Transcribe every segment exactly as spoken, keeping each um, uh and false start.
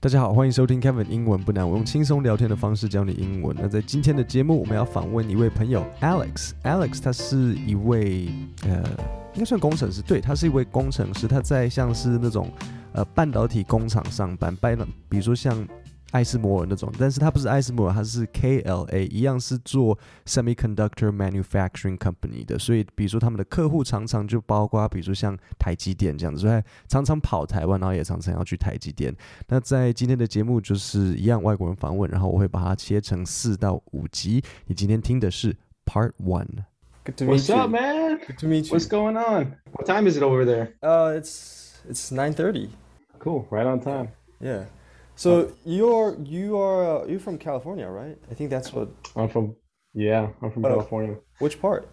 大家好，欢迎收听 Kevin 英文不难，我用轻松聊天的方式教你英文。那在今天的节目，我们要访问一位朋友 Alex。Alex 他是一位呃，应该算工程师，对，他是一位工程师。他在像是那种呃半导体工厂上班，比如说像艾斯摩尔那种，但是他不是艾斯摩尔，他是 K L A， 一样是做 semiconductor manufacturing company 的，所以比如说他们的客户常常就包括比如说像台积电这样子，所以常常跑台湾，然后也常常要去台积电。那在今天的节目就是一样外国人访问，然后我会把它切成四到五集。你今天听的是 Part One。Good to meet What's you. What's up, man? Good to meet you. What's going on? What time is it over there? Uh, it's it's nine thirty. Cool, right on time. Yeah.So you're you are uh, you're from California, right? I think that's what I'm from. Yeah, I'm from uh, California. Which part?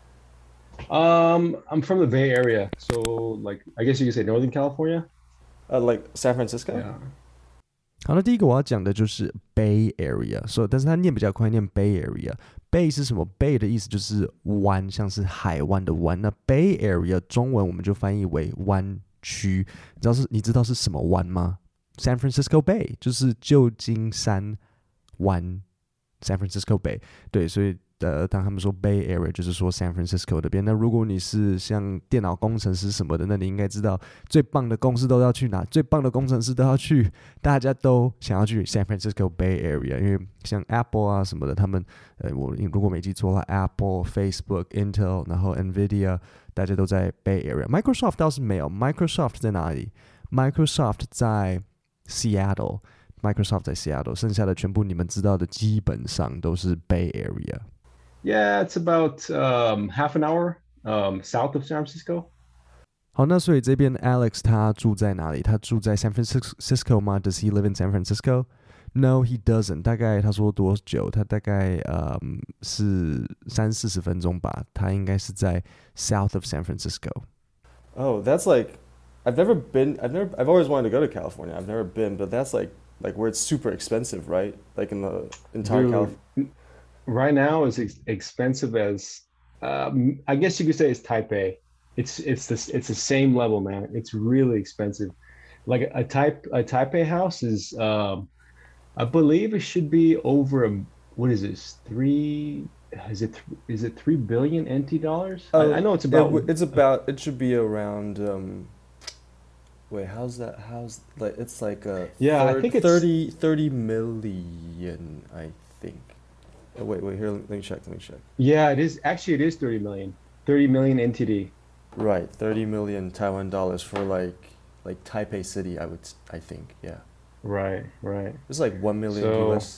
Um, I'm from the Bay Area, so like I guess you could say Northern California. Uh, like San Francisco. Yeah. 好，那第一个我要讲的就是 Bay Area， 所以但是它念比较快，念 Bay Area。Bay 是什么 ？Bay 的意思就是湾，像是海湾的湾。那 Bay Area 中文我们就翻译为湾区。你知道是你知道是什么湾吗？San Francisco Bay 就是旧金山湾 San Francisco Bay， 对，所以呃，当他们说 Bay Area 就是说 San Francisco 那边。那如果你是像电脑工程师什么的，那你应该知道最棒的公司都要去哪，最棒的工程师都要去，大家都想要去 San Francisco Bay Area， 因为像 Apple 啊什么的，他们呃，我如果没记错的话 ，Apple、Facebook、Intel， 然后 Nvidia， 大家都在 Bay Area。Microsoft 倒是没有 ，Microsoft 在哪里 ？Microsoft 在Seattle， Microsoft 在 Seattle， 剩下的全部你们知道的基本上都是 Bay Area。Yeah, it's about um, half an hour um, south of San Francisco. 好，那所以这边 Alex 他住在哪里？他住在 San Francisco 吗？ Does he live in San Francisco? No, he doesn't. 大概他说多久？他大概呃、um, 是三四十分钟吧。他应该是在 south of San Francisco. Oh, that's like.I've never been. I've never. I've always wanted to go to California. I've never been, but that's like like where it's super expensive, right? Like in the entire California. Right now, it's ex- expensive as. Um, I guess you could say it's Taipei. It's it's the it's the same level, man. It's really expensive. Like a, a type a Taipei house is. Um, I believe it should be over. A, what is this? Three. Is it is it three billion N T dollars? Uh, I, I know it's about. It, it's about. It should be around. Um,Wait, how's that? How's like it's like a yeah? third, I think it's thirty, thirty million. I think. Oh, wait, wait. Here, let me check. Let me check. Yeah, it is. Actually, it is thirty million. Thirty million N T D. Right, thirty million Taiwan dollars for like like Taipei City. I would. I think. Yeah. Right. Right. It's like one million so, U S.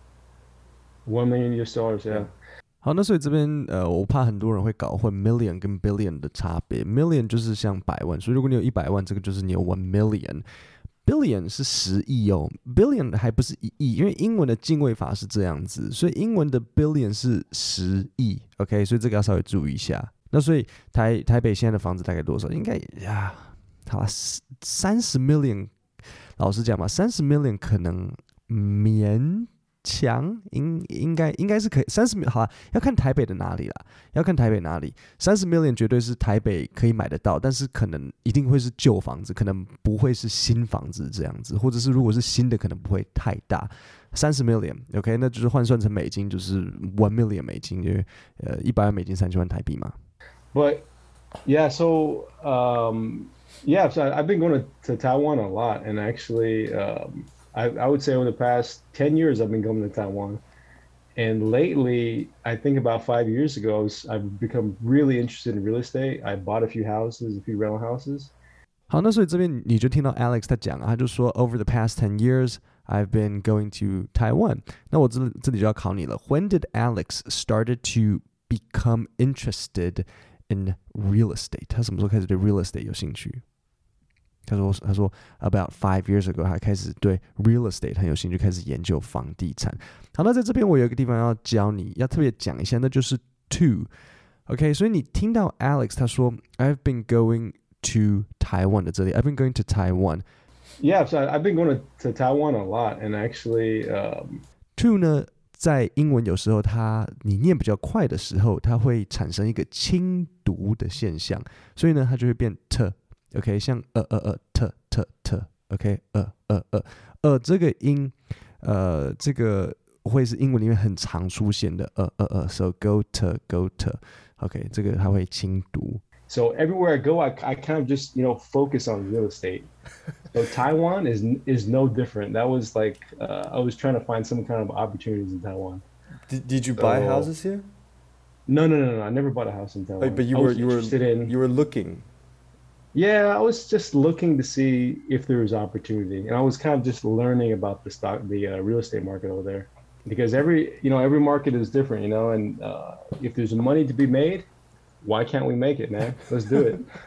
One million U S dollars. Yeah. yeah. 好，那所以这边呃，我怕很多人会搞混 million 跟 billion 的差别。million 就是像百万，所以如果你有一百万，这个就是你有 one million。billion 是十亿哦 ，billion 还不是一亿，因为英文的进位法是这样子，所以英文的 billion 是十亿 ，OK， 所以这个要稍微注意一下。那所以台台北现在的房子大概多少？应该呀，好啦，三十 million， 老实讲嘛，三十 million 可能勉强应应该应该是可以三十 million 好啦，要看台北的哪里啦，要看台北哪里。三十 million 绝对是台北可以买得到，但是可能一定会是旧房子，可能不会是新房子这样子，或者是如果是新的，可能不会太大。三十 million，OK， 那就是换算成美金就是 one million 美金，因为呃一百万美金三千万台币嘛。 But yeah, so um, yeah, so I've been going to, to Taiwan a lot, and actually. Um,I, I would say over the past ten years, I've been going to Taiwan. And lately, I think about five years ago, I was, I've become really interested in real estate. I bought a few houses, a few rental houses. 好，那所以这边你就听到 Alex 他讲啊，他就说 Over the past ten years, I've been going to Taiwan. 那我这这里就要考你了。When did Alex started to become interested in real estate? 他什么时候开始对 real estate 有兴趣？他说：“他说 about five years ago， 他开始对 real estate 很有兴趣，开始研究房地产。好，那在这边我有一个地方要教你，要特别讲一下，那就是 to。OK， 所以你听到 Alex 他说 I've been going to Taiwan 的这里 ，I've been going to Taiwan。 Yeah, so I've been going to, to Taiwan a lot, and actually, um, to 呢，在英文有时候它你念比较快的时候，它会产生一个轻读的现象，所以呢，它就会变 t。OK， 像呃呃呃 t t t OK 呃呃呃呃这个音，呃这个会是英文里面很常出现的，呃呃呃 ，so go to go to，OK，、okay, 这个它会轻读。 So everywhere I go, I, I kind of just, you know, focus on real estate. So Taiwan is is no different. That was like uh, I was trying to find some kind of opportunities in Taiwan. Did, did you So, buy houses here? No, no, no, no. I never bought a house in Taiwan. Like, but you I were was you were interested in. you were looking. Yeah, I was just looking to see if there was opportunity, and I was kind of just learning about the stock, the uh, real estate market over there, because every you know every market is different, you know, and uh, if there's money to be made, why can't we make it, man? Let's do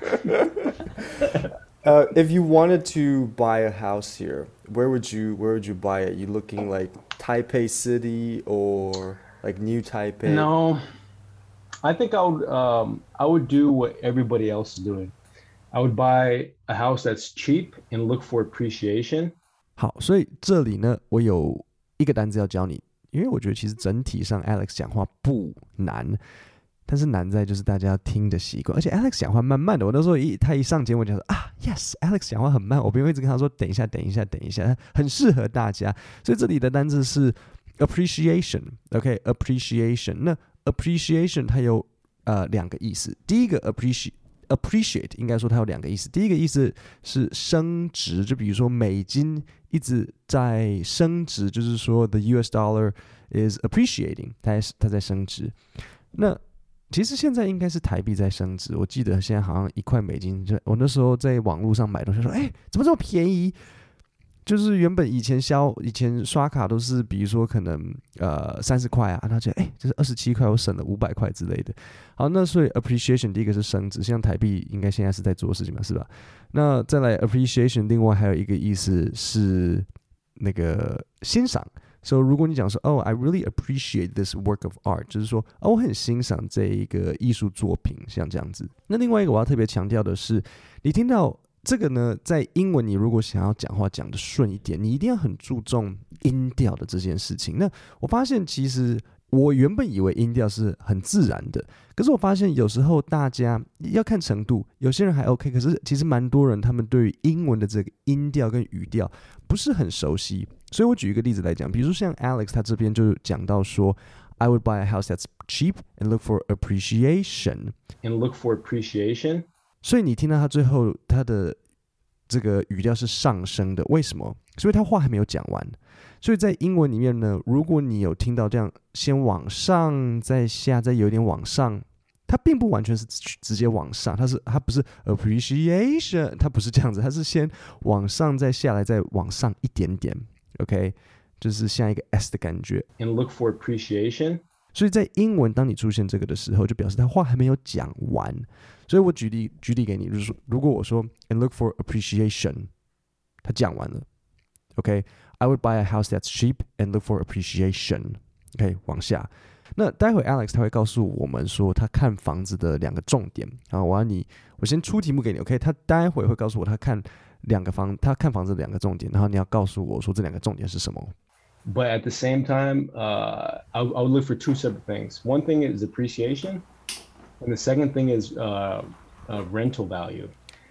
it. uh, if you wanted to buy a house here, where would you where would you buy it? You looking like Taipei City or like New Taipei? No, I think I would um, I would do what everybody else is doing. I would buy a house that's cheap and look for appreciation. 好，所以这里呢，我有一个单词要教你，因为我觉得其实整体上 Alex 讲话不难，但是难在就是大家要听的习惯，而且 Alex 讲话慢慢的。我那时候一他一上节目我就说啊 ，Yes，Alex 讲话很慢，我不用一直跟他说等一下，等一下，等一下，很适合大家。所以这里的单字是 appreciation，OK，appreciation、okay? 那 appreciation 它有呃两个意思，第一个 appreciate。appreciate 应该说它有两个意思，第一个意思是升值，就比如说美金一直在升值，就是说 the U S dollar is appreciating， 它在它在升值。那其实现在应该是台币在升值，我记得现在好像一块美金，就我那时候在网络上买东西说，哎，怎么这么便宜？就是原本以前消以前刷卡都是，比如说可能呃三十块啊，然后觉得哎，这是二十七块，我省了五百块之类的。好，那所以 appreciation 第一个是升值，像台币应该现在是在做的事情嘛，是吧？那再来 appreciation， 另外还有一个意思是那个欣赏。所以如果你讲说哦 ，I really appreciate this work of art， 就是说哦，我很欣赏这一个艺术作品，像这样子。那另外一个我要特别强调的是，你听到。这个呢，在英文你如果想要讲话讲得顺一点，你一定要很注重音调的这件事情。那我发现其实我原本以为音调是很自然的，可是我发现有时候大家要看程度，有些人还 OK， 可是其实蛮多人他们对于英文的这个音调跟语调不是很熟悉。所以我举一个例子来讲，比如说像 Alex 他这边就讲到说 I would buy a house that's cheap and look for appreciation and look for appreciation。 所以你听到他最后他的这个语调是上升的，为什么？所以他话还没有讲完。所以在英文里面呢，如果你有听到这样先往上再下再有点往上，它并不完全是直接往上，它是它不是 appreciation， 它不是这样子，它是先往上再下来再往上一点点 ，OK， 就是像一个 S 的感觉。 And look for appreciation。 所以在英文，当你出现这个的时候，就表示他话还没有讲完。所以我举例举例给你，就是说，如果我说 and look for appreciation， 他讲完了 ，OK，I would buy a house that's cheap and look for appreciation，OK， 往下。那待会 Alex 他会告诉我们说他看房子的两个重点。然后我要你，我先出题目给你 ，OK， 他待会会告诉我他看两个房，他看房子的两个重点，然后你要告诉我说这两个重点是什么。 But at the same time, uh, I, I would look for two separate things. One thing is appreciation, and the second thing is uh, uh, rental value.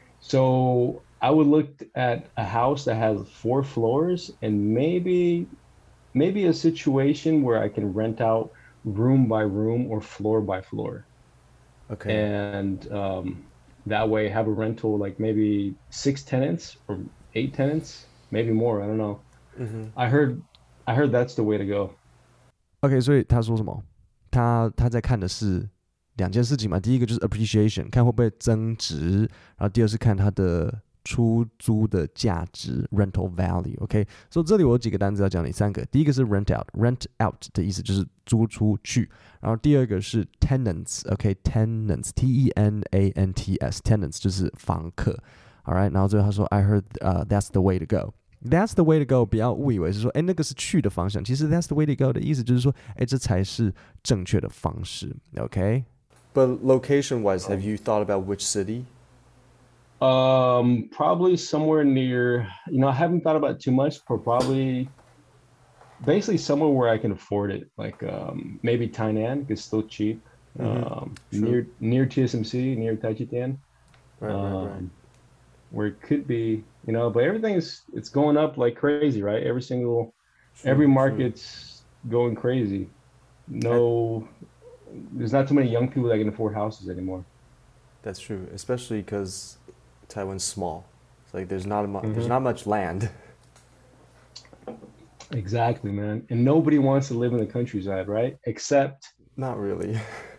So I would look at a house that has four floors and maybe maybe a situation where I can rent out room by room or floor by floor. Okay. And um, that way have a rental like maybe six tenants or eight tenants, maybe more. I don't know. Mm-hmm. I heard.I heard that's the way to go. OK， 所以他说什么？他他在看的是两件事情嘛。第一个就是 appreciation， 看会不会增值；然后第二是看它的出租的价值 rental value。OK， 所以这里我有几个单词要讲你三个。第一个是 rent out，rent out 的意思就是租出去。然后第二个是 tenants，OK，tenants，T E N A N T S，tenants 就是房客。All right， 然后最后他说 I heard、uh, that's the way to go。That's the way to go， 不要误以为是说，哎，那个是去的方向。其实 that's the way to go 的意思就是说，哎，这才是正确的方式。OK。 But location-wise, have you thought about which city? Um, probably somewhere near. You know, I haven't thought about it too much, but probably, basically somewhere where I can afford it. Like um, maybe Tainan, it's still cheap. Mm-hmm. Um, sure. near near T S M C, near Taichitian. Right, um, right, right. where it could be, you know, but everything is it's going up like crazy, right? Every single True, every true. market's going crazy. No, there's not too many young people that can afford houses anymore. That's true, especially because Taiwan's small. It's like there's not a mu- Mhm. there's not much land. Exactly, man. And nobody wants to live in the countryside, right? Except Not really.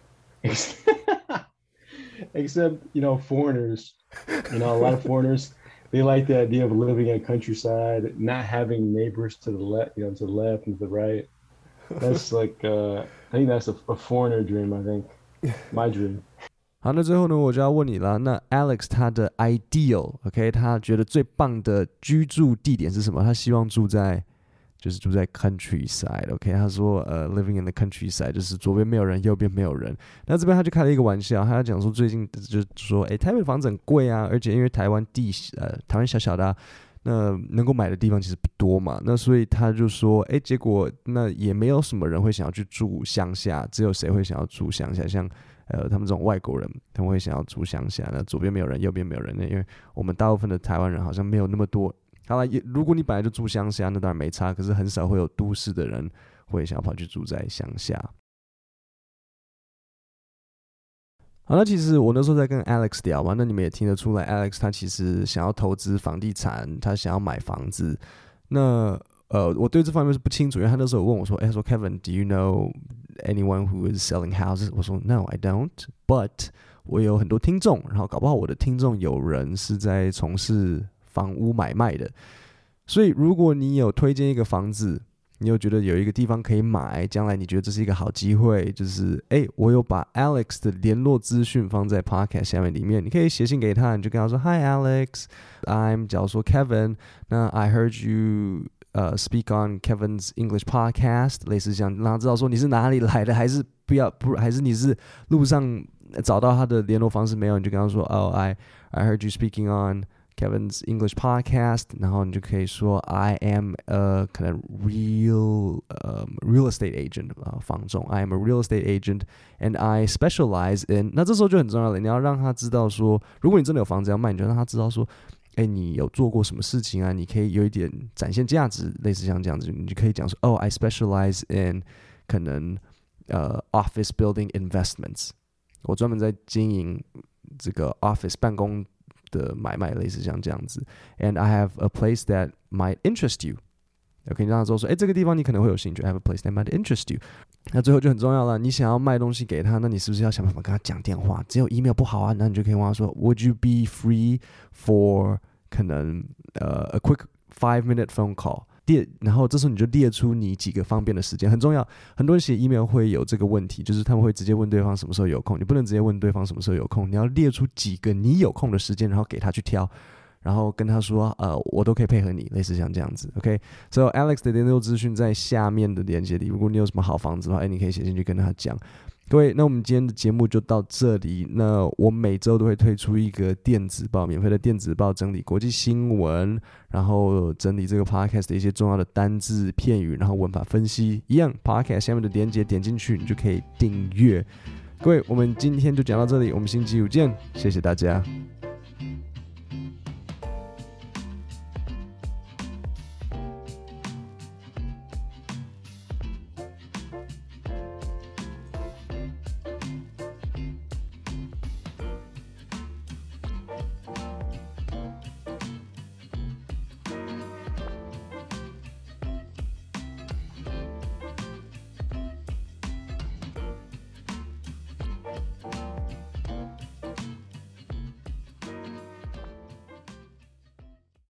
except, you know, foreigners. You know, a lot of foreigners, they like the idea of living in countryside, not having neighbors to the left, you know, to the left and to the right. That's like uh I think that's a, a foreigner dream, I think. My dream. 好，那最后呢，我就要问你了。那 Alex 他的 ideal，OK，、okay, 他觉得最棒的居住地点是什么？他希望住在，就是住在 countryside，OK，、okay? 他说，呃 ，living in the countryside， 就是左边没有人，右边没有人。那这边他就开了一个玩笑，他讲说最近就是说，哎，台北房子很贵啊，而且因为台湾地，呃，台湾小小的、啊。那能够买的地方其实不多嘛，那所以他就说，哎，结果那也没有什么人会想要去住乡下，只有谁会想要住乡下？像呃他们这种外国人，他们会想要住乡下。那左边没有人，右边没有人，因为我们大部分的台湾人好像没有那么多。好了，如果你本来就住乡下，那当然没差，可是很少会有都市的人会想要跑去住在乡下。好，那其实我那时候在跟 Alex 聊嘛，那你们也听得出来 ，Alex 他其实想要投资房地产，他想要买房子。那呃，我对这方面是不清楚，因为他那时候问我说，哎，他说 Kevin，do you know anyone who is selling houses？ 我说 No, I don't. But 我有很多听众，然后搞不好我的听众有人是在从事房屋买卖的，所以如果你有推荐一个房子。你有觉得有一个地方可以买，将来你觉得这是一个好机会，就是哎，我有把 Alex 的联络资讯放在 podcast 下面里面，你可以写信给他，你就跟他说 Hi Alex, I'm 假如说 Kevin， 那 I heard you 呃、uh, speak on Kevin's English podcast， 类似这样，让他知道说你是哪里来的，还是不要不还是你是路上找到他的联络方式没有，你就跟他说哦、oh, I I heard you speaking on Kevin's English podcast， 然后你就可以说 I am a 可能 real、um, real estate agent 啊、呃，房仲 I am a real estate agent and I specialize in， 那这时候就很重要了，你要让他知道说，如果你真的有房子要卖，你就让他知道说，哎，你有做过什么事情啊？你可以有一点展现价值，类似像这样子，你就可以讲说，哦 I specialize in 可能呃 office building investments， 我专门在经营这个 office 办公的买卖，类似像这样子 ，and I have a place that might interest you。OK， 让他知道说，哎，这个地方你可能会有兴趣。I have a place that might interest you。那最后就很重要了，你想要卖东西给他，那你是不是要想办法跟他讲电话？只有 email 不好啊，那你就可以问他说 ，Would you be free for 可能呃、uh, a quick five minute phone call？列，然后这时候你就列出你几个方便的时间，很重要。很多人写 email 会有这个问题，就是他们会直接问对方什么时候有空，你不能直接问对方什么时候有空，你要列出几个你有空的时间，然后给他去挑，然后跟他说，呃，我都可以配合你，类似像这样子。OK，so Alex 的联络资讯在下面的链接里，如果你有什么好房子的话，哎，你可以写进去跟他讲。各位，那我们今天的节目就到这里。那我每周都会推出一个电子报，免费的电子报，整理国际新闻，然后整理这个 podcast 的一些重要的单字片语，然后文法分析。一样 podcast 下面的连结点进去，你就可以订阅。各位，我们今天就讲到这里，我们星期五见，谢谢大家。